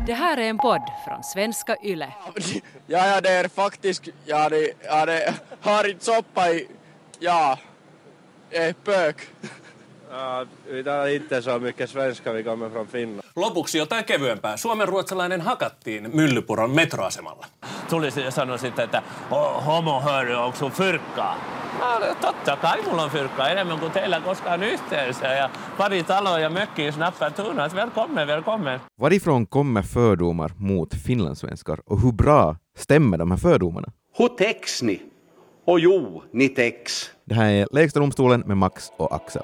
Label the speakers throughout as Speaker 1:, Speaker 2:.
Speaker 1: Det här är en podd från Svenska Yle.
Speaker 2: Ja, det är faktiskt, det har inte soppa i, pök.
Speaker 3: Ja, täällä inte så mycket svenska, vi kommer från Finland.
Speaker 4: Lopuksi jotain kevyempää. Suomenruotsalainen hakattiin Myllypuron metroasemalla.
Speaker 5: Tulisi ja sanoi sitten, että homo hörru, onko sun fyrkkaa? No, totta kai mulla on fyrkkaa enemmän kuin teillä koskaan yhteensä. Ja pari taloa ja mökkiä snappar tunat. Välkommen.
Speaker 6: Varifrån kommer fördomar mot finlandssvenskar och hur bra stämmer de här fördomarna?
Speaker 7: Hur täcks ni? Och jo, ni täcks.
Speaker 6: Det här är Lägsta domstolen med Max och Axel.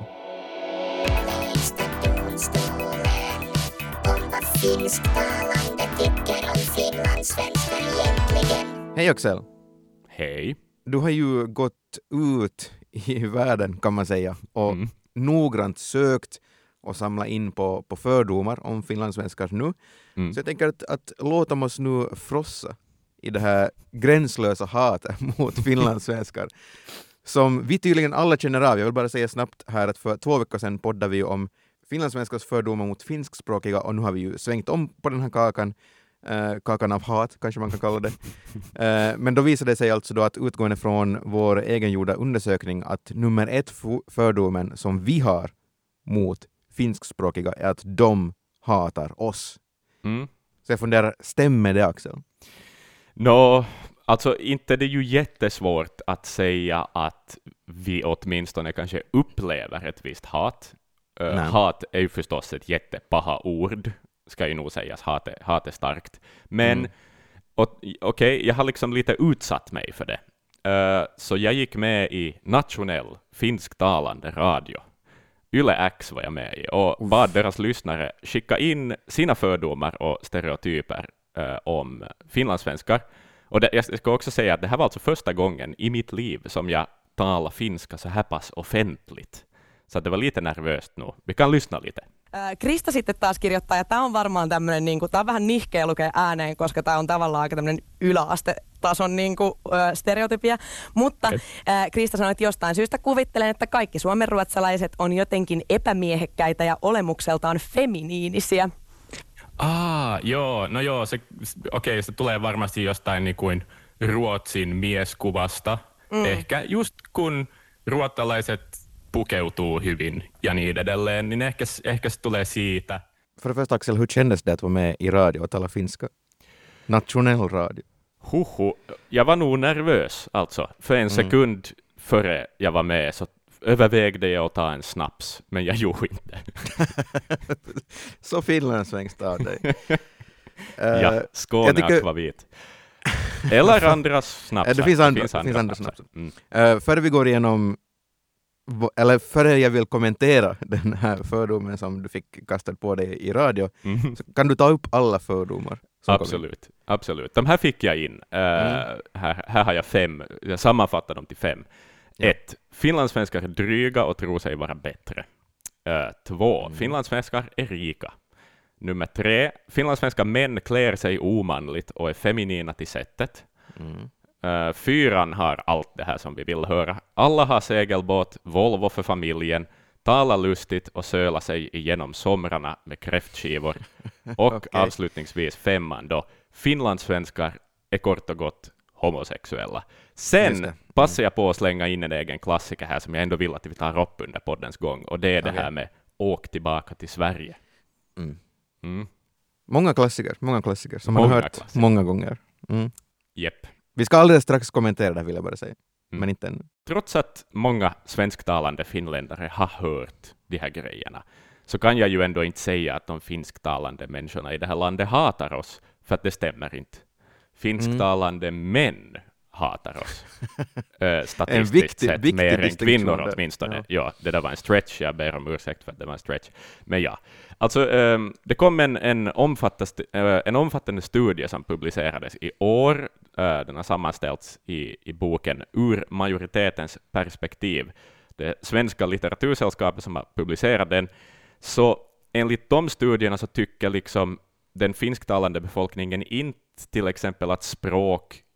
Speaker 6: Hej Axel.
Speaker 8: Hej.
Speaker 6: Du har ju gått ut i världen kan man säga och noggrant sökt och samlat in på fördomar om finlandssvenskar nu. Så jag tänker att låta oss nu frossa i det här gränslösa hatet mot finlandssvenskar som vi tydligen alla känner av. Jag vill bara säga snabbt här att för 2 veckor sedan poddade vi om finlandssvenskars fördomar mot finskspråkiga och nu har vi ju svängt om på den här kakan av hat, kanske man kan kalla det. Men då visade det sig alltså då att utgående från vår egengjorda undersökning att nummer 1 fördomen som vi har mot finskspråkiga är att de hatar oss. Så jag funderar, stämmer det Axel?
Speaker 8: Alltså inte det är ju jättesvårt att säga att vi åtminstone kanske upplever ett visst hat. Hat är ju förstås ett jättepaha ord, ska ju nog sägas, hat är starkt. Men okej, jag har liksom lite utsatt mig för det. Så jag gick med i nationell finsktalande radio. Yle X var jag med i och bad deras lyssnare skicka in sina fördomar och stereotyper om finlandssvenskar. Och jag ska också säga att det här var alltså första gången i mitt liv som jag talar finska så här pass offentligt. Så det var lite nervöst nu. Vi kan lyssna lite.
Speaker 9: Krista sitten taas kirjoittaa, ja tämä on varmaan tämmöinen, niin tämä on vähän nihkeä lukea ääneen, koska tämä on tavallaan aika tämmöinen yläastetason niin stereotypia. Mutta Krista sanoi, että jostain syystä kuvittelen, että kaikki suomenruotsalaiset on jotenkin epämiehekkäitä ja olemukseltaan feminiinisiä.
Speaker 10: Se tulee varmasti jostain niin kuin Ruotsin mieskuvasta. Ehkä just kun ruotsalaiset pukeutuu hyvin ja niin edelleen, niin ehkä se tulee siitä.
Speaker 6: För det första Axel, hur kändes det att vara med i radio och tala finska? Nationell radio.
Speaker 8: Jag var nog nervös alltså. För en sekund före jag var med så övervägde jag att ta en snaps, men jag gjorde inte.
Speaker 6: Så finlandssvenskt av dig.
Speaker 8: Ja, Skåne akvavit. Eller andras snapsar.
Speaker 6: Det finns andra snapsar. Före vi går igenom, eller före jag vill kommentera den här fördomen som du fick kastad på dig i radio, så kan du ta upp alla fördomar?
Speaker 8: Absolut. De här fick jag in. Här har jag 5. Jag sammanfattar dem till 5. 1. Finlandssvenskar är dryga och tror sig vara bättre. 2. Finlandssvenskar är rika. Nummer 3. Finlandssvenska män klär sig omanligt och är feminina till sättet. 4 har allt det här som vi vill höra. Alla har segelbåt, Volvo för familjen, talar lustigt och söla sig igenom somrarna med kräftskivor. Och avslutningsvis 5 då. Finlandssvenskar är kort och gott homosexuella. Sen passar jag på att slänga in en egen klassiker här som jag ändå vill att vi tar upp under poddens gång. Och det är det här med åk tillbaka till Sverige.
Speaker 6: Många klassiker som man har hört många gånger.
Speaker 8: Jepp.
Speaker 6: Vi ska alldeles strax kommentera det, vill jag bara säga. Men inte ännu.
Speaker 8: Trots att många svensktalande finländare har hört de här grejerna så kan jag ju ändå inte säga att de finsktalande människorna i det här landet hatar oss, för att det stämmer inte. Finsktalande män hatar oss. Statistiskt sett mer än kvinnor åtminstone. Ja, det där var en stretch. Jag ber om ursäkt för att det var en stretch. Men ja, alltså det kom en omfattande studie som publicerades i år. Den har sammanställts i boken Ur majoritetens perspektiv. Det svenska litteratursällskapet som har publicerat den. Så enligt de studierna så tycker liksom den finsktalande befolkningen inte till exempel att språk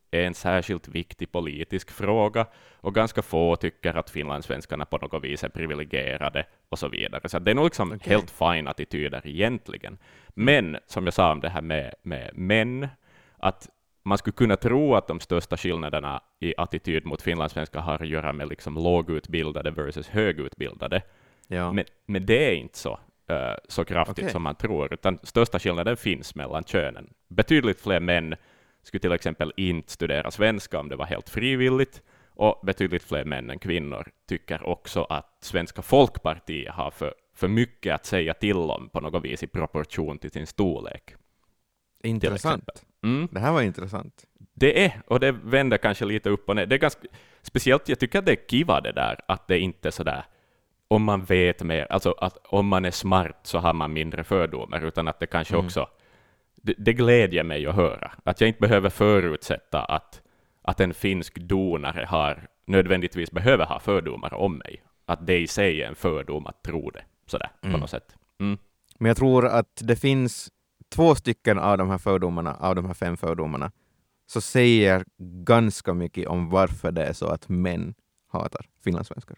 Speaker 8: är en särskilt viktig politisk fråga och ganska få tycker att finlandssvenskarna på något vis är privilegierade och så vidare. Så det är nog liksom helt fine attityder egentligen. Men som jag sa om det här med män, att man skulle kunna tro att de största skillnaderna i attityd mot finlandssvenskar har att göra med liksom lågutbildade versus högutbildade.
Speaker 6: Ja.
Speaker 8: Men det är inte så kraftigt som man tror, utan största skillnaden finns mellan könen. Betydligt fler män skulle till exempel inte studera svenska om det var helt frivilligt, och betydligt fler män än kvinnor tycker också att Svenska Folkpartiet har för mycket att säga till om på något vis i proportion till sin storlek.
Speaker 6: Intressant. Det här var intressant.
Speaker 8: Det är, och det vänder kanske lite upp och ner. Det är ganska speciellt, jag tycker att det är kiva det där, att det inte är så där om man vet mer, alltså att om man är smart så har man mindre fördomar, utan att det kanske också, det glädjer mig att höra. Att jag inte behöver förutsätta att en finsk donare nödvändigtvis behöver ha fördomar om mig. Att det i sig är en fördom att tro det, sådär, på något sätt.
Speaker 6: Men jag tror att det finns 2 stycken av de här fördomarna, av de här 5 fördomarna, så säger ganska mycket om varför det är så att män hatar finlandssvenskar.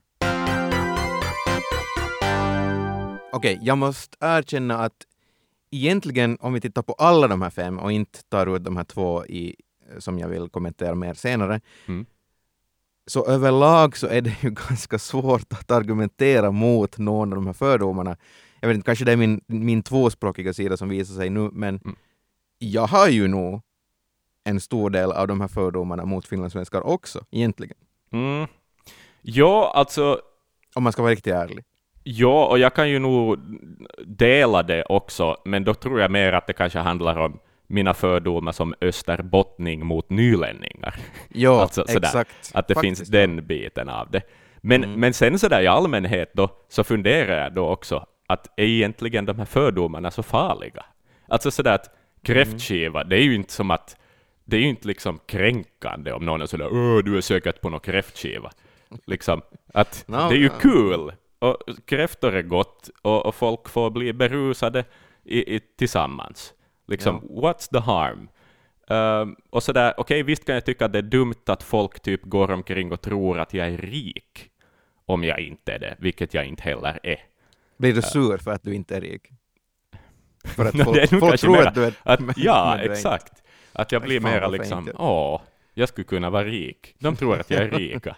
Speaker 6: Okej, jag måste erkänna att egentligen, om vi tittar på alla de här 5 och inte tar ut de här 2 som jag vill kommentera mer senare, så överlag så är det ju ganska svårt att argumentera mot någon av de här fördomarna. Jag vet inte, kanske det är min tvåspråkiga sida som visar sig nu, men jag har ju nog en stor del av de här fördomarna mot finlandssvenskar också, egentligen.
Speaker 8: Ja, alltså...
Speaker 6: Om man ska vara riktigt ärlig.
Speaker 8: Ja, och jag kan ju nog dela det också, men då tror jag mer att det kanske handlar om mina fördomar som österbottning mot nylänningar.
Speaker 6: Ja,
Speaker 8: alltså,
Speaker 6: exakt.
Speaker 8: Att det
Speaker 6: faktiskt
Speaker 8: finns den biten av det. Men sen sådär i allmänhet då, så funderar jag då också att är egentligen de här fördomarna så farliga? Alltså sådär att kräftskiva, det är ju inte som att det är ju inte liksom kränkande om någon är sådär, du är säkert på någon kräftskiva. Liksom, att det är ju kul. Och kräftor är gott och folk får bli berusade tillsammans. Liksom, what's the harm? Och sådär, okej, visst kan jag tycka att det är dumt att folk typ går omkring och tror att jag är rik om jag inte är det, vilket jag inte heller är.
Speaker 6: Blir du sur för att du inte är rik? För att
Speaker 8: folk tror
Speaker 6: mera, att du är
Speaker 8: ja, exakt. Att jag blir mera liksom, jag skulle kunna vara rik. De tror att jag är rika.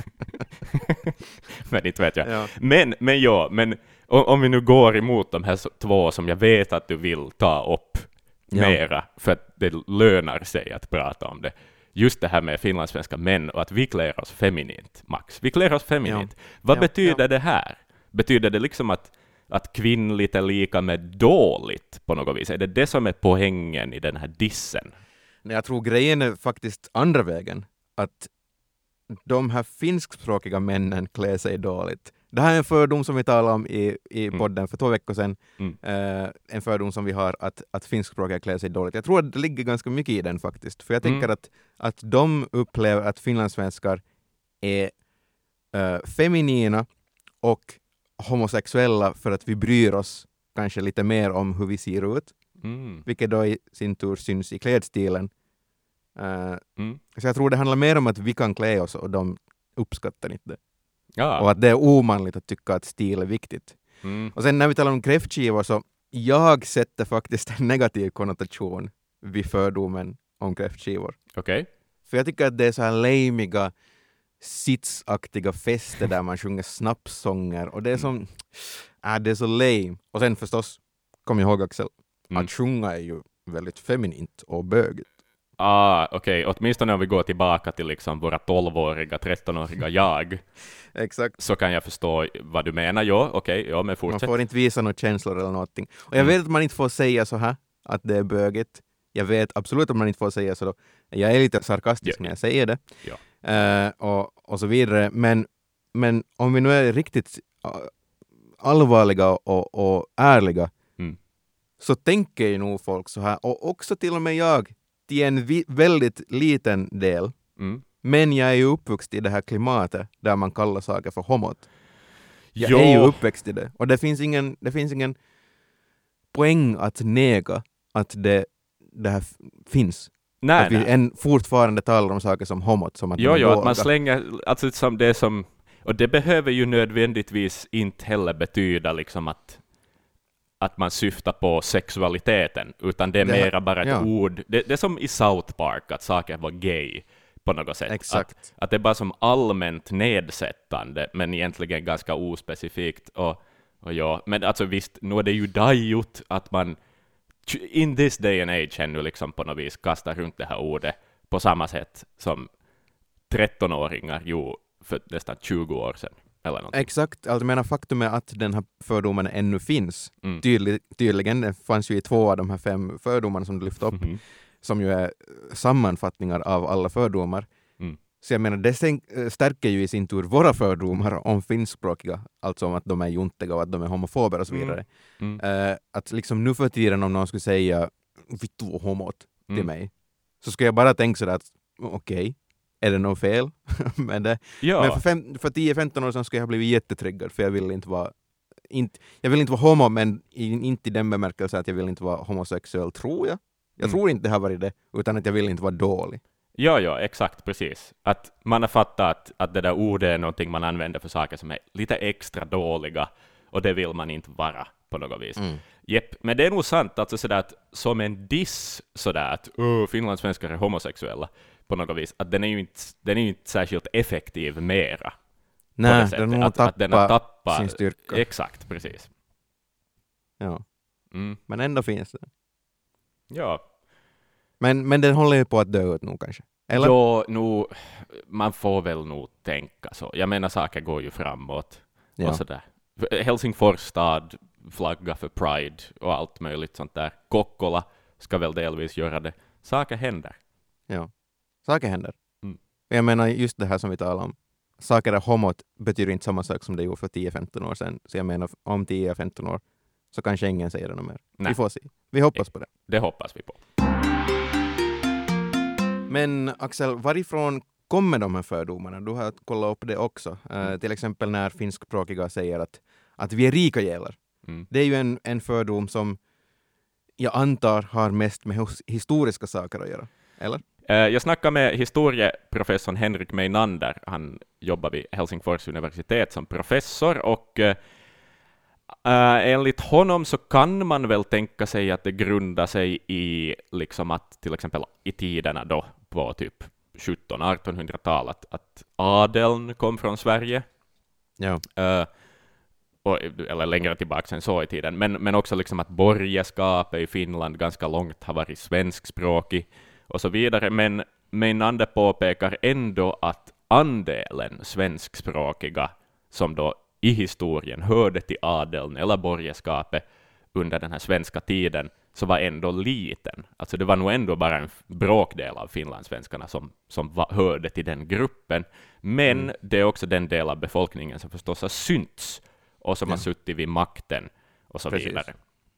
Speaker 8: Men inte vet jag. Ja. Men om vi nu går emot de här 2 som jag vet att du vill ta upp mera, för att det lönar sig att prata om det. Just det här med finlandssvenska män och att vi klär oss feminint, Max. Vi klär oss feminint. Vad betyder det här? Betyder det liksom att kvinnligt är lika med dåligt på något vis? Är det som är poängen i den här dissen?
Speaker 6: Jag tror grejen är faktiskt andra vägen. Att de här finskspråkiga männen klär sig dåligt. Det här är en fördom som vi talade om i podden för 2 veckor sedan. En fördom som vi har att finskspråkiga klär sig dåligt. Jag tror att det ligger ganska mycket i den faktiskt. För jag tänker att de upplever att finlandssvenskar är feminina och homosexuella för att vi bryr oss kanske lite mer om hur vi ser ut. Vilket då i sin tur syns i klädstilen. Så jag tror det handlar mer om att vi kan klä oss och de uppskattar inte det. Ja. Och att det är omanligt att tycka att stil är viktigt. Och sen när vi talar om kräftskivor så jag sätter faktiskt en negativ konnotation vid fördomen om kräftskivor.
Speaker 8: Okej.
Speaker 6: För jag tycker att det är så här lamiga sitsaktiga fester där man sjunger snapsånger och det är som det är så lame. Och sen förstås, kom ihåg Axel, att sjunga är ju väldigt feminint och bögigt.
Speaker 8: Okej. Åtminstone om vi går tillbaka till liksom våra 12-åriga, 13-åriga jag.
Speaker 6: Exakt.
Speaker 8: Så kan jag förstå vad du menar. Ja, men fortsätt.
Speaker 6: Man får inte visa några känslor eller någonting. Och jag vet att man inte får säga så här, att det är bögigt. Jag vet absolut att man inte får säga så då. Jag är lite sarkastisk när jag säger det. Ja. Och så vidare. Men om vi nu är riktigt allvarliga och ärliga så tänker ju nog folk så här. Och också till och med jag till en väldigt liten del. Men jag är ju uppvuxen i det här klimatet där man kallar saker för homot. Jag är ju uppväxt i det. Och det finns ingen poäng att nega att det här finns. Nej, att vi fortfarande talar om saker som homot, som att
Speaker 8: att man slänger, alltså som det som, och det behöver ju nödvändigtvis inte heller betyda liksom att man syftar på sexualiteten, utan det är mera bara ett ord. Det är som i South Park, att saker var gay på något sätt.
Speaker 6: Exakt.
Speaker 8: Att det är bara som allmänt nedsättande, men egentligen ganska ospecifikt. Och ja, men alltså visst, nu är det ju dajut att man in this day and age ännu liksom på något vis kastar runt det här ordet på samma sätt som 13-åringar gjorde för nästan 20 år sedan. Eller något.
Speaker 6: Exakt, alltså menar faktum är att den här fördomen ännu finns. Tydligen, det fanns ju i 2 av de här 5 fördomarna som du lyfte upp, som ju är sammanfattningar av alla fördomar. Så jag menar, det stärker ju i sin tur våra fördomar om finskspråkiga, alltså om att de är juntiga och att de är homofober och så vidare. Att liksom nu för tiden om någon skulle säga vittu homot till mig, så ska jag bara tänka sådär att okej, är det något fel med det? Ja. Men för 10-15 år sedan skulle jag ha blivit jättetryggad, för jag vill inte vara homo, men inte i den bemärkelsen att jag vill inte vara homosexuell, tror jag. Jag tror inte det har varit det, utan att jag vill inte vara dålig.
Speaker 8: Ja, exakt, precis. Att man har fattat att det där ordet är någonting man använder för saker som är lite extra dåliga, och det vill man inte vara på något vis. Men det är nog sant, alltså sådär att som en diss sådär att finlandssvenskar är homosexuella på något vis, att den är ju inte särskilt effektiv mera.
Speaker 6: Nej, den har tappat sin styrka.
Speaker 8: Exakt, precis.
Speaker 6: Ja. Men ändå finns det.
Speaker 8: Ja.
Speaker 6: Men den håller ju på att dö ut nu kanske. Eller?
Speaker 8: Ja, man får väl nog tänka så. Jag menar, saker går ju framåt. Ja. Och sådär. Helsingfors stad flagga för Pride och allt möjligt sånt där. Kokkola ska väl delvis göra det. Saker händer.
Speaker 6: Ja, saker händer. Jag menar just det här som vi talar om. Saker är homot betyder inte samma sak som det gjorde för 10-15 år sedan. Så jag menar, om 10-15 år så kanske ingen säger det något mer. Nej. Vi får se. Vi hoppas på det.
Speaker 8: Det hoppas vi på.
Speaker 6: Men Axel, varifrån kommer de här fördomarna? Du har kollat upp det också. Till exempel när finskspråkiga säger att vi är rika jävlar. Det är ju en fördom som jag antar har mest med historiska saker att göra. Eller?
Speaker 8: Jag snackade med historieprofessorn Henrik Meinander. Han jobbar vid Helsingfors universitet som professor, och enligt honom så kan man väl tänka sig att det grundar sig i liksom att till exempel i tiderna då på typ 1700-1800-talet att adeln kom från Sverige.
Speaker 6: Ja.
Speaker 8: Eller längre tillbaka än så i tiden. Men också liksom att borgerskapet i Finland ganska långt har varit svenskspråkig och så vidare. Men Meinander påpekar ändå att andelen svenskspråkiga som då i historien hörde till adeln eller borgerskapet under den här svenska tiden så var ändå liten. Alltså det var nog ändå bara en bråkdel av finlandssvenskarna som hörde till den gruppen. Men det är också den del av befolkningen som förstås har synts och som har suttit vid makten och så vidare.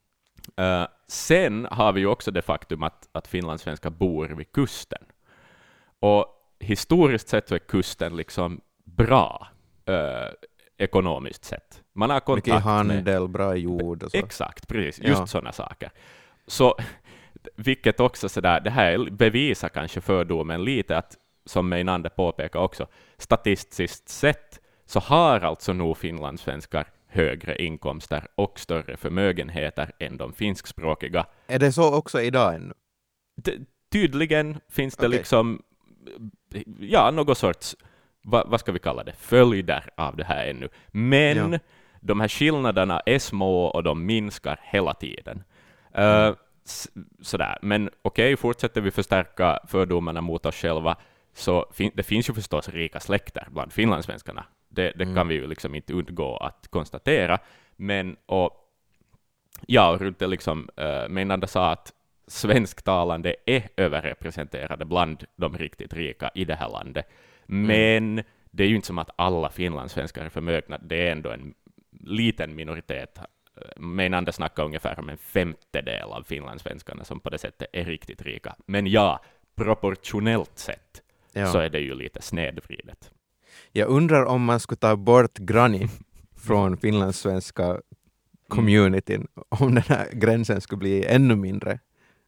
Speaker 8: Sen har vi ju också det faktum att finlandssvenskar bor vid kusten. Och historiskt sett så är kusten liksom bra ekonomiskt sett. Man har kontakt
Speaker 6: mycket handel, bra jord och så.
Speaker 8: Exakt, precis. Just sådana saker. Så, vilket också sådär, det här bevisar kanske fördomen lite att, som Meinander påpekar också, statistiskt sett så har alltså nog finlandssvenskar högre inkomster och större förmögenheter än de finskspråkiga.
Speaker 6: Är det så också idag ännu?
Speaker 8: Tydligen finns det liksom något sorts, vad ska vi kalla det, följder av det här ännu. Men de här skillnaderna är små och de minskar hela tiden. Sådär. Men okej, fortsätter vi förstärka fördomarna mot oss själva, så det finns ju förstås rika släkter bland finlandssvenskarna. Det kan vi ju liksom inte undgå att konstatera. Men runt det liksom, Meinander sa att svensktalande är överrepresenterade bland de riktigt rika i det här landet. Men det är ju inte som att alla finlandssvenskar är förmögna. Det är ändå en liten minoritet. Meinander snackar ungefär om en 1/5 av finlandssvenskarna som på det sättet är riktigt rika. Men proportionellt sett så är det ju lite snedvridet.
Speaker 6: Jag undrar om man skulle ta bort Granny från finlandssvenska communityn, om den här gränsen skulle bli ännu mindre.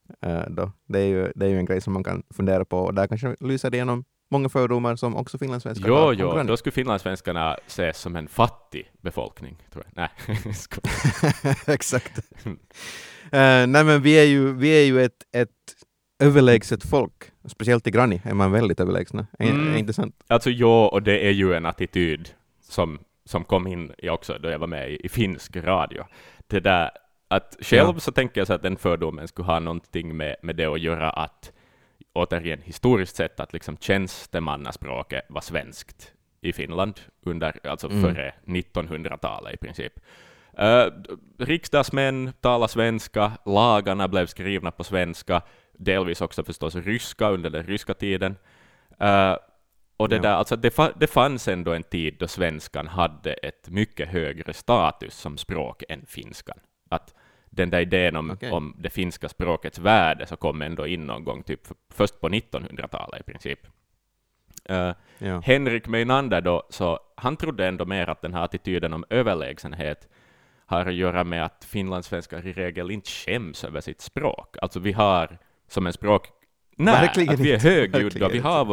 Speaker 6: då. Det är ju en grej som man kan fundera på, och där kanske lyser det igenom många fördomar som också finlandssvenskar har.
Speaker 8: Jo, då skulle finlandssvenskarna ses som en fattig befolkning, tror jag. Nej,
Speaker 6: exakt. Nej, men vi är ju ett överlägset folk. Speciellt i Granny är man väldigt överlägsna. Är inte sant?
Speaker 8: Alltså och det är ju en attityd som kom in också då jag var med i finsk radio. Det där att själv så tänker jag så att den fördomen skulle ha någonting med det att göra att återigen historiskt sett att liksom tjänstemannaspråket var svenskt i Finland före 1900-talet i princip. Riksdagsmän talar svenska, lagarna blev skrivna på svenska, delvis också förstås ryska under den ryska tiden. Och det där, alltså det fanns ändå en tid då svenskan hade ett mycket högre status som språk än finskan. Att den där idén om det finska språkets värde så kom ändå in någon gång typ först på 1900-talet i princip. Henrik Meinander då, så han trodde ändå mer att den här attityden om överlägsenhet har att göra med att finlandssvenskar i regel inte skäms över sitt språk. Alltså vi har som en språk, att vi är högljudda,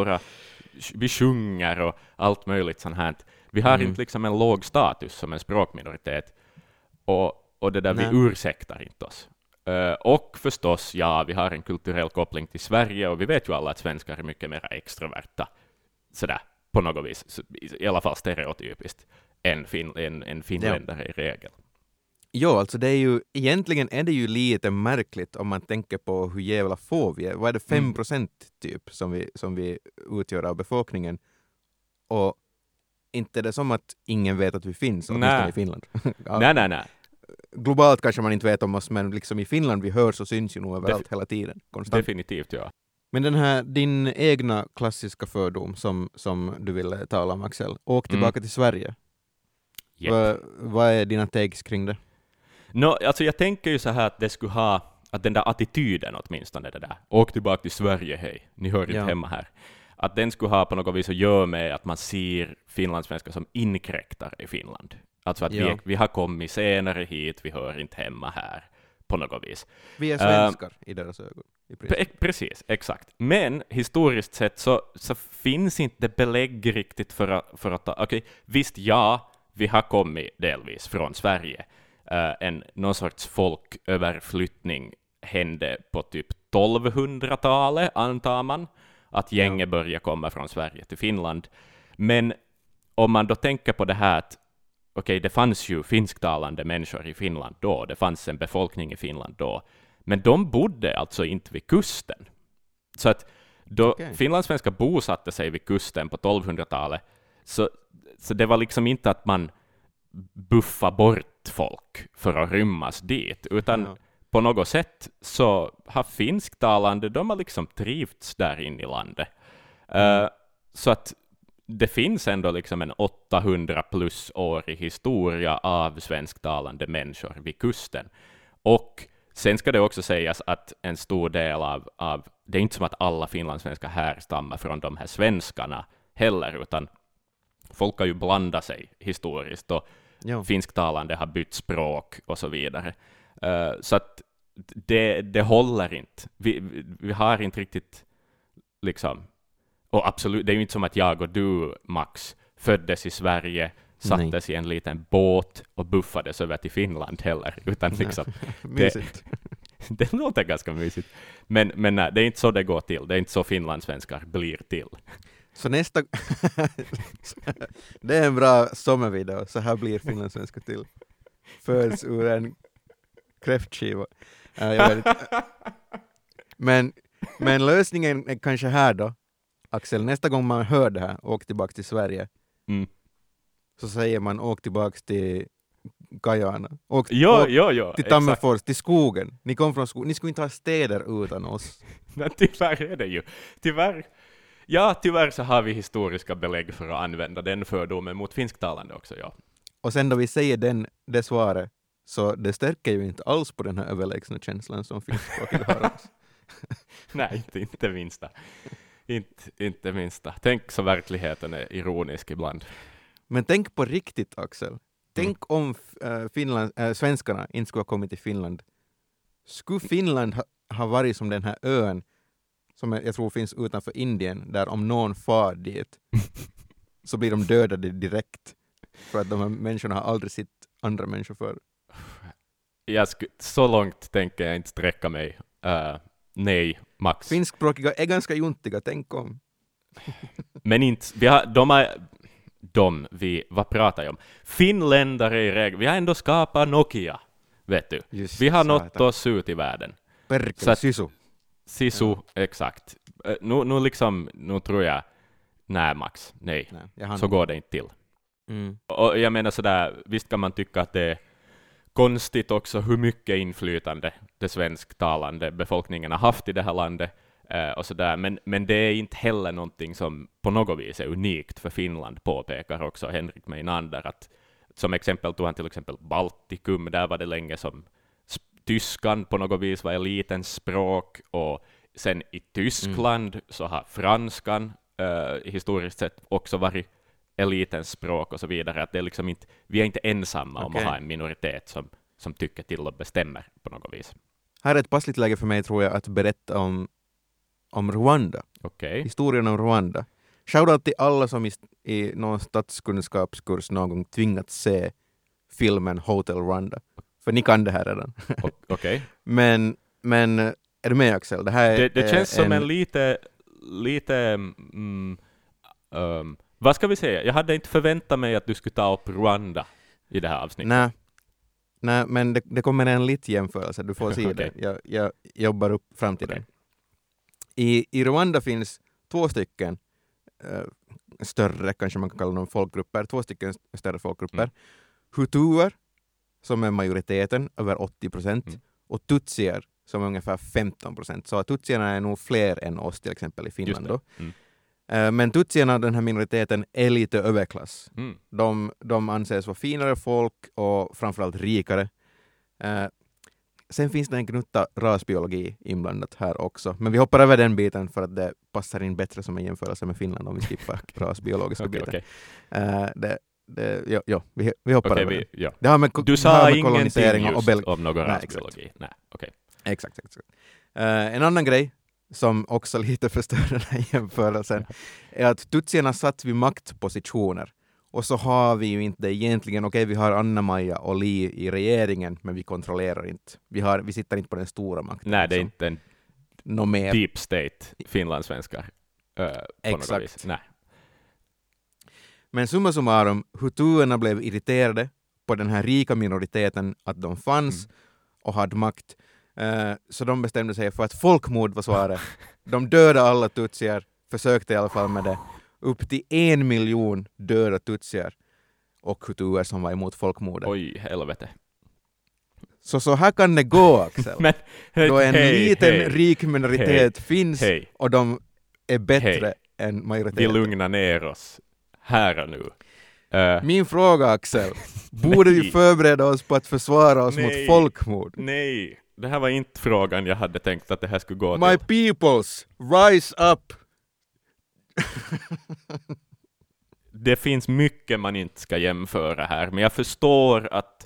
Speaker 8: vi sjunger och allt möjligt sånt här. Vi har inte liksom en låg status som en språkminoritet, och det där vi ursäktar inte oss. Och förstås, vi har en kulturell koppling till Sverige, och vi vet ju alla att svenskar är mycket mer extroverta, sådär, på något vis, i alla fall stereotypiskt, än finländare i regel.
Speaker 6: Jo, alltså egentligen är det ju lite märkligt om man tänker på hur jävla få vi är. Vad är det, 5% typ som vi utgör av befolkningen? Och inte är det som att ingen vet att vi finns, åtminstone i Finland.
Speaker 8: Nej.
Speaker 6: Globalt kanske man inte vet om oss, men liksom i Finland vi hörs och syns ju nog överallt hela tiden. Konstant.
Speaker 8: Definitivt, ja.
Speaker 6: Men din egna klassiska fördom som du ville tala om, Axel, åk tillbaka till Sverige. Yep. Vad är dina takes kring det?
Speaker 8: Alltså jag tänker ju så här att det skulle ha, att den där attityden åtminstone, det där, åk tillbaka till Sverige, hej, ni hör inte hemma här. Att den skulle ha på något vis att göra med att man ser finlandssvenskar som inkräktare i Finland. Alltså att vi har kommit senare hit, vi hör inte hemma här på något vis.
Speaker 6: Vi är svenskar i deras ögon.
Speaker 8: Precis, exakt. Men historiskt sett så finns inte belägg riktigt för att visst, vi har kommit delvis från Sverige. Någon sorts folköverflyttning hände på typ 1200-talet, antar man, att gänget började komma från Sverige till Finland. Men om man då tänker på det här att det fanns ju finsktalande människor i Finland då, det fanns en befolkning i Finland då, men de bodde alltså inte vid kusten. Så att då finlandssvenskar bosatte sig vid kusten på 1200-talet, så det var liksom inte att man buffa bort folk för att rymmas dit, utan på något sätt så har finsktalande, de har liksom trivts där inne i landet. Så att det finns ändå liksom en 800 plus årig historia av svensktalande människor vid kusten. Och sen ska det också sägas att en stor del av det är inte som att alla finlandssvenskar härstammar från de här svenskarna heller, utan folk har ju blandat sig historiskt, och finsktalande har bytt språk och så vidare. Så att det håller inte. Vi har inte riktigt liksom, och absolut, det är ju inte som att jag och du, Max, föddes i Sverige, sattes i en liten båt och buffades över till Finland heller, utan liksom det låter ganska mysigt. Men nej, det är inte så det går till. Det är inte så finlandssvenskar blir till.
Speaker 6: Så nästa det är en bra sommarvideo. Så här blir finlandssvenskar till. Föds ur en kräftskiva. Men lösningen är kanske här då, Axel. Nästa gång man hör det här, åk tillbaka till Sverige, så säger man åk tillbaka till Guyana. Åk till Tammerfors, till skogen. Ni kom från skogen. Ni skulle inte ha städer utan oss.
Speaker 8: Men tyvärr är det ju. Tyvärr så har vi historiska belägg för att använda den fördomen mot finsktalande också, ja.
Speaker 6: Och sen då vi säger det svaret, så det stärker ju inte alls på den här överlägsna känslan som finskspråkiga har oss.
Speaker 8: Nej, inte minsta. Inte minsta. Tänk så verkligheten är ironisk ibland.
Speaker 6: Men tänk på riktigt, Axel. Tänk om svenskarna inte skulle ha kommit till Finland. Skulle Finland har varit som den här ön som jag tror finns utanför Indien, där om någon far dit så blir de dödade direkt för att de här människorna har aldrig sett andra människor förr.
Speaker 8: Så långt tänker jag inte sträcka mig. Nej, Max.
Speaker 6: Finskspråkiga är ganska juntiga, tänk om.
Speaker 8: Men inte, vad pratar jag om? Finländare i regel, vi har ändå skapat Nokia, vet du.
Speaker 6: Just
Speaker 8: vi har
Speaker 6: satan.
Speaker 8: nått oss ut i världen.
Speaker 6: Perkele,
Speaker 8: Sisu, exakt. Nu tror jag, nej Max, nej. Så går det inte till. Och jag menar sådär, visst kan man tycka att det är konstigt också hur mycket inflytande det svensktalande befolkningen har haft i det här landet. Och sådär. Men det är inte heller någonting som på något vis är unikt för Finland, påpekar också Henrik Meinander. Att, som exempel tog han till exempel Baltikum, där var det länge som tyskan på något vis var elitens språk, och sen i Tyskland så har franskan historiskt sett också varit elitens språk och så vidare. Att det är liksom inte, vi är inte ensamma om att ha en minoritet som tycker till och bestämmer på något vis.
Speaker 6: Här är ett passligt läge för mig, tror jag, att berätta om Rwanda. Historien om Rwanda. Shoutout till alla som i någon statskunskapskurs någon gång tvingats se filmen Hotel Rwanda. För ni kan det här redan. Men är du med, Axel? Det här
Speaker 8: det känns som en lite vad ska vi säga? Jag hade inte förväntat mig att du skulle ta upp Rwanda i det här avsnittet.
Speaker 6: Nej, men det kommer en lite jämförelse. Du får se det. Jag jobbar upp fram till den. I Rwanda finns 2 stycken större, kanske man kan kalla dem folkgrupper, 2 stycken större folkgrupper. Hutuer, som är majoriteten, över 80%, och tutsier, som är ungefär 15%. Så tutsierna är nog fler än oss till exempel i Finland då. Men tutsierna, den här minoriteten, är lite överklass. De anses vara finare folk och framförallt rikare. Sen finns det en gnutta rasbiologi inblandat här också. Men vi hoppar över den biten för att det passar in bättre som en jämförelse med Finland om vi skippar rasbiologiska biten. Vi hoppar över den. Det har med,
Speaker 8: du sa ingenting
Speaker 6: kolonisering
Speaker 8: just
Speaker 6: och
Speaker 8: om någon rasbiologi.
Speaker 6: Exakt. En annan grej som också lite förstör den här jämförelsen är att tutsierna satt vid maktpositioner. Och så har vi ju inte egentligen, vi har Anna-Maja och Li i regeringen, men vi kontrollerar inte. Vi sitter inte på den stora makten.
Speaker 8: Nej, det är inte en deep state finlandssvenskar på något vis. Nej.
Speaker 6: Men summa summarum, hutuerna blev irriterade på den här rika minoriteten, att de fanns och hade makt. Så de bestämde sig för att folkmord var svaret. De dödade alla tutsier, försökte i alla fall med det. Upp till 1 miljon döda tutsier och hutuer som var emot folkmordet.
Speaker 8: Oj, helvete.
Speaker 6: Så här kan det gå, Axel.
Speaker 8: Men,
Speaker 6: då en liten rik minoritet finns och de är bättre än majoriteten.
Speaker 8: Vi lugnar ner oss här och nu.
Speaker 6: Min fråga, Axel. Borde vi förbereda oss på att försvara oss mot folkmord?
Speaker 8: Nej, det här var inte frågan jag hade tänkt att det här skulle gå
Speaker 6: My peoples, rise up!
Speaker 8: Det finns mycket man inte ska jämföra här, men jag förstår att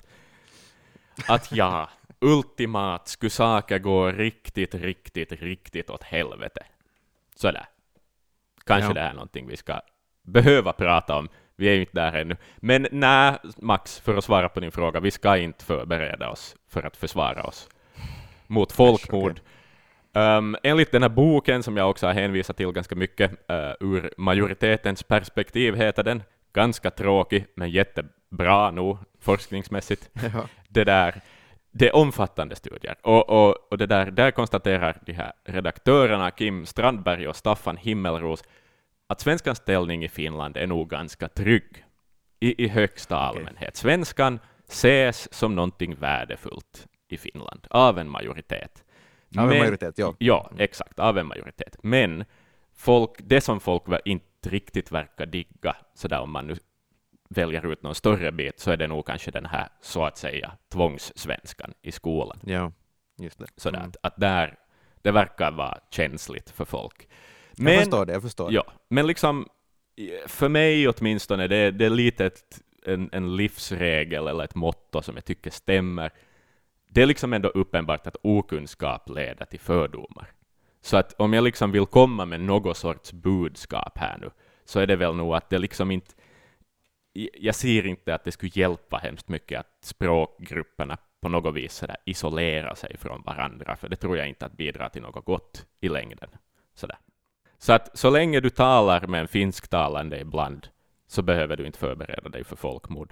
Speaker 8: ultimat skulle saker gå riktigt åt helvete. Sådär. Kanske det är någonting vi ska behöva prata om. Vi är ju inte där ännu. Men nej, Max, för att svara på din fråga, vi ska inte förbereda oss för att försvara oss mot folkmord. Enligt den här boken som jag också har hänvisat till ganska mycket, ur majoritetens perspektiv heter den, ganska tråkig men jättebra nog forskningsmässigt. Det är omfattande studier och det där konstaterar de här redaktörerna Kim Strandberg och Staffan Himmelros att svenskans ställning i Finland är nog ganska trygg i högsta allmänhet. Svenskan ses som någonting värdefullt i Finland av en majoritet. Ja, exakt, av en majoritet. Men det som folk inte riktigt verkar digga, så där om man nu väljer ut någon större bit, så är det nog kanske den här, så att säga, tvångssvenskan i skolan.
Speaker 6: Ja, just det.
Speaker 8: Så att där, det verkar vara känsligt för folk.
Speaker 6: Men, jag förstår det.
Speaker 8: Ja, men liksom, för mig åtminstone, det är lite en livsregel eller ett motto som jag tycker stämmer. det är liksom ändå uppenbart att okunskap leder till fördomar. Så att om jag liksom vill komma med något sorts budskap här nu, så är det väl nog att det liksom inte, jag ser inte att det skulle hjälpa hemskt mycket att språkgrupperna på något vis sådär isolera sig från varandra, för det tror jag inte att bidrar till något gott i längden. Sådär. Så att så länge du talar med en finsktalande ibland, så behöver du inte förbereda dig för folkmord.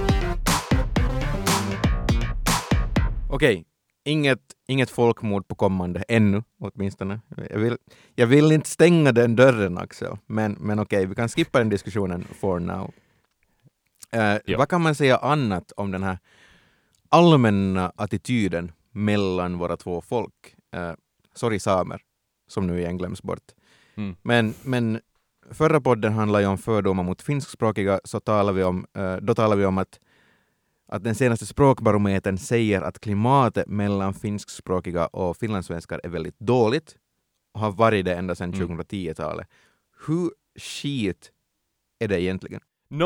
Speaker 6: Okej, inget folkmord på kommande ännu åtminstone. Jag vill inte stänga den dörren, Axel, men okej, vi kan skippa den diskussionen for now. Vad kan man säga annat om den här allmänna attityden mellan våra två folk? Sorry samer, som nu igen glöms bort. Men förra podden handlade ju om fördomar mot finskspråkiga, så talar vi om att den senaste språkbarometern säger att klimatet mellan finskspråkiga och finlandssvenskar är väldigt dåligt och har varit det ända sedan 2010-talet. Hur skit är det egentligen?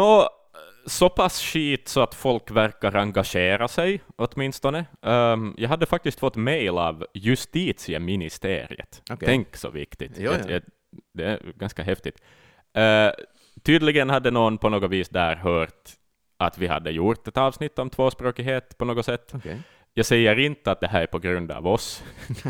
Speaker 8: Så pass skit så att folk verkar engagera sig åtminstone. Jag hade faktiskt fått mejl av justitieministeriet. Okay. Tänk så viktigt. Det är ganska häftigt. Tydligen hade någon på något vis där hört att vi hade gjort ett avsnitt om tvåspråkighet på något sätt. Okay. Jag säger inte att det här är på grund av oss.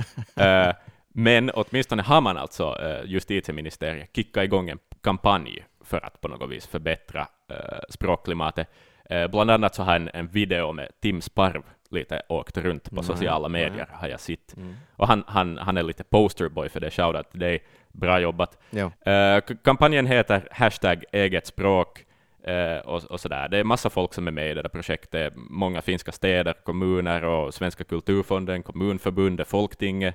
Speaker 8: Men åtminstone har man alltså justitieministeriet kickat igång en kampanj för att på något vis förbättra språkklimatet. Bland annat så har en video med Tim Sparv lite åkt runt på sociala medier har jag sett. Och han är lite posterboy för det. Shoutout till dig. Bra jobbat. Kampanjen heter #egetspråk och sådär. Det är massa folk som är med i det där projektet. Många finska städer, kommuner och Svenska kulturfonden, kommunförbundet, Folktinget.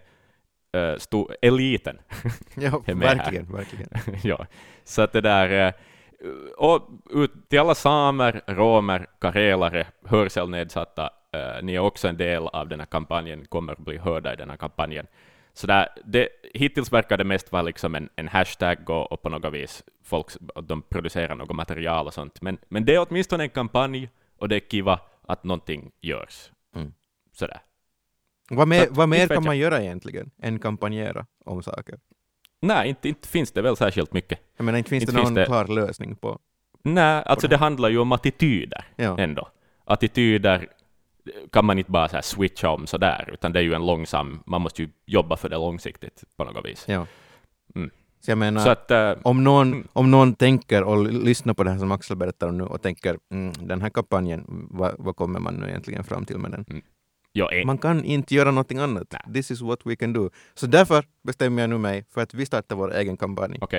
Speaker 8: Eliten.
Speaker 6: Ja, verkligen.
Speaker 8: Ja, så att det där och ut till alla samer, romer, karelare, hörselnedsatta, ni är också en del av den här kampanjen, kommer att bli hörda i den här kampanjen. Så där, hittills verkar det mest vara liksom en hashtag och på något vis folk de producerar något material och sånt. Men det är åtminstone en kampanj och det är kiva att någonting görs. Sådär.
Speaker 6: Vad mer kan man göra egentligen än kampanjera om saker?
Speaker 8: Nej, inte finns det väl särskilt mycket.
Speaker 6: Jag menar, inte finns det någon klar lösning på?
Speaker 8: Nej, alltså det handlar ju om attityder ändå. Attityder kan man inte bara så här switcha om så där, utan det är ju en långsam, man måste ju jobba för det långsiktigt på något vis.
Speaker 6: Ja. Så jag menar, så att, om någon tänker och lyssnar på det här som Axel berättar om nu och tänker, den här kampanjen, vad kommer man nu egentligen fram till med den? Man kan inte göra någonting annat. Nej. This is what we can do. Så därför bestämmer jag nu mig för att vi startar vår egen kampanj.
Speaker 8: Okay.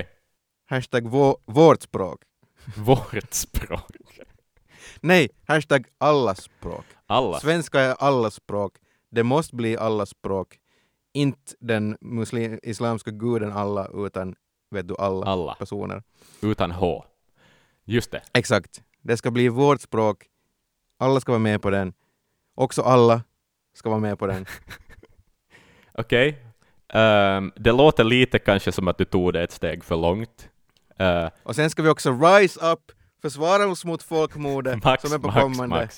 Speaker 6: #vårt språk.
Speaker 8: Vårt språk?
Speaker 6: Nej, #allas språk. Svenska är allas språk. Det måste bli allas språk. Inte den islamska guden alla, utan vet du, alla personer.
Speaker 8: Utan H. Just det.
Speaker 6: Exakt. Det ska bli vårt språk. Alla ska vara med på den. Också alla ska vara med på den.
Speaker 8: Okej. Det låter lite kanske som att du tog det ett steg för långt.
Speaker 6: Och sen ska vi också rise up, försvara oss mot folkmordet som är på kommande.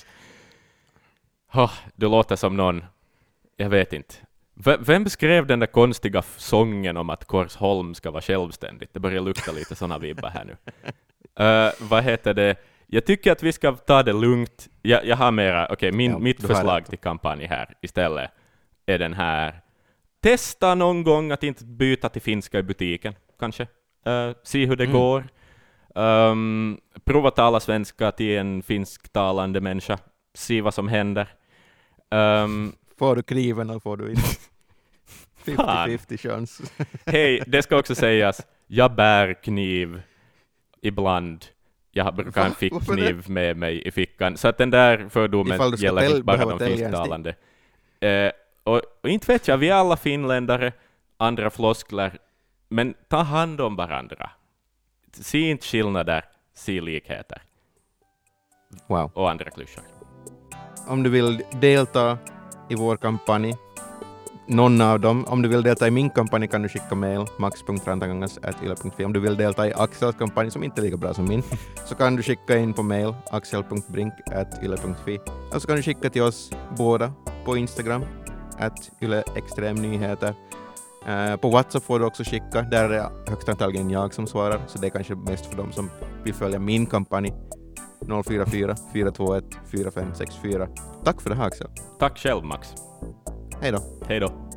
Speaker 8: Du låter som någon, jag vet inte. Vem skrev den där konstiga sången om att Korsholm ska vara självständigt? Det börjar lukta lite såna vibbar här nu. Vad heter det? Jag tycker att vi ska ta det lugnt. Jag har mera, mitt förslag till kampanj här istället är den här. Testa någon gång att inte byta till finska i butiken, kanske. Se hur det går. Prova tala svenska till en finsktalande människa. Se vad som händer.
Speaker 6: Får du kniven eller får du inte? 50-50 chans.
Speaker 8: Hej, det ska också sägas. Jag bär kniv ibland. Jag brukar ha en fickkniv med mig i fickan. Så att den där fördomen gäller inte bara de finsktalande. Och inte vet jag, vi är alla finländare, andra floskler. Men ta hand om varandra. Se inte skillnader, se likheter.
Speaker 6: Wow.
Speaker 8: Och andra klyschor.
Speaker 6: Om du vill delta i vår kampanj, någon av dem. Om du vill delta i min kampanj kan du skicka mail max.rantakangas@yle.fi. Om du vill delta i Axels kampanj som inte är lika bra som min så kan du skicka in på mail axel.brink@yle.fi. Eller så kan du skicka till oss båda på Instagram @yle-extremnyheter. På WhatsApp får du också skicka. Där är det högst antagligen jag som svarar, så det är kanske mest för dem som vill följa min kampanj. 044 421 4564. Tack för det här, Axel.
Speaker 8: Tack själv, Max.
Speaker 6: Hej då.
Speaker 8: Hej då.